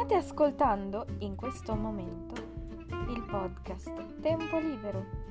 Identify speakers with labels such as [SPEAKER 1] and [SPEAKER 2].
[SPEAKER 1] State ascoltando in questo momento il podcast Tempo Libero.